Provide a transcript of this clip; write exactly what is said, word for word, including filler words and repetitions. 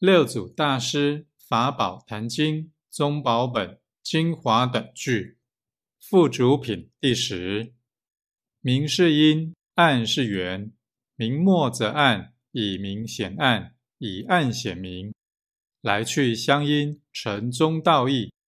六祖大师法宝坛经宗宝本精华等句，附主品第十。明是因，暗是缘，明末则暗，以明显暗，以暗显明，来去相因，成中道义。